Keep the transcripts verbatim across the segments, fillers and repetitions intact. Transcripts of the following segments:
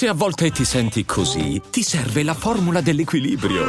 Se a volte ti senti così, ti serve la formula dell'equilibrio.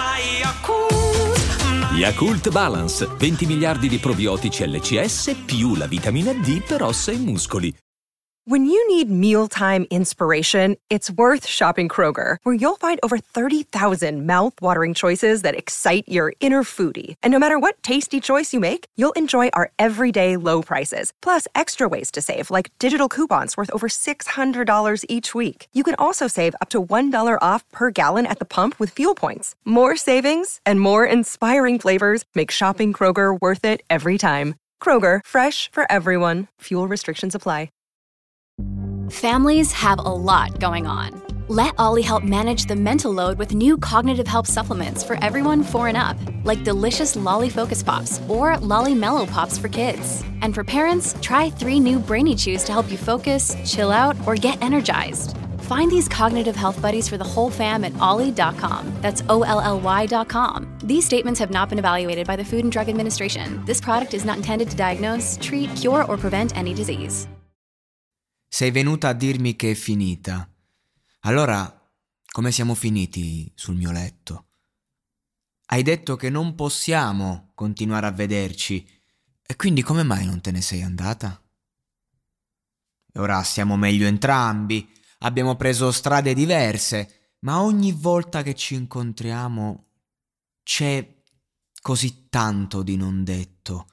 Yakult Balance, venti miliardi di probiotici L C S più la vitamina D per ossa e muscoli. When you need mealtime inspiration, it's worth shopping Kroger, where you'll find over thirty thousand mouth-watering choices that excite your inner foodie. And no matter what tasty choice you make, you'll enjoy our everyday low prices, plus extra ways to save, like digital coupons worth over six hundred dollars each week. You can also save up to one dollar off per gallon at the pump with fuel points. More savings and more inspiring flavors make shopping Kroger worth it every time. Kroger, fresh for everyone. Fuel restrictions apply. Families have a lot going on. Let Ollie help manage the mental load with new cognitive help supplements for everyone four and up, like delicious Lolly Focus Pops or Lolly Mellow Pops for kids. And for parents, try three new Brainy Chews to help you focus, chill out, or get energized. Find these cognitive health buddies for the whole fam at ollie dot com. That's O L L Y dot com. These statements have not been evaluated by the Food and Drug Administration. This product is not intended to diagnose, treat, cure, or prevent any disease. Sei venuta a dirmi che è finita. Allora, come siamo finiti sul mio letto? Hai detto che non possiamo continuare a vederci, e quindi come mai non te ne sei andata? E ora stiamo meglio entrambi, abbiamo preso strade diverse, ma ogni volta che ci incontriamo c'è così tanto di non detto.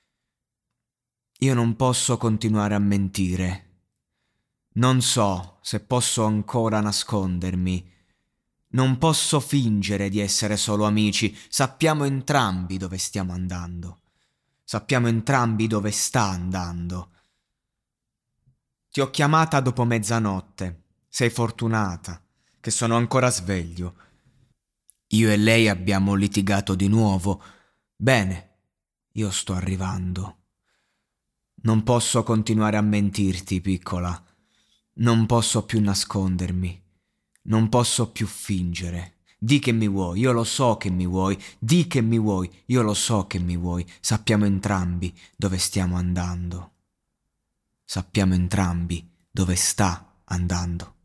Io non posso continuare a mentire. Non so se posso ancora nascondermi. Non posso fingere di essere solo amici. Sappiamo entrambi dove stiamo andando. Sappiamo entrambi dove sta andando. Ti ho chiamata dopo mezzanotte. Sei fortunata che sono ancora sveglio. Io e lei abbiamo litigato di nuovo. Bene, io sto arrivando. Non posso continuare a mentirti, piccola. Non posso più nascondermi, non posso più fingere. Di che mi vuoi, io lo so che mi vuoi, di che mi vuoi, io lo so che mi vuoi. Sappiamo entrambi dove stiamo andando. Sappiamo entrambi dove sta andando.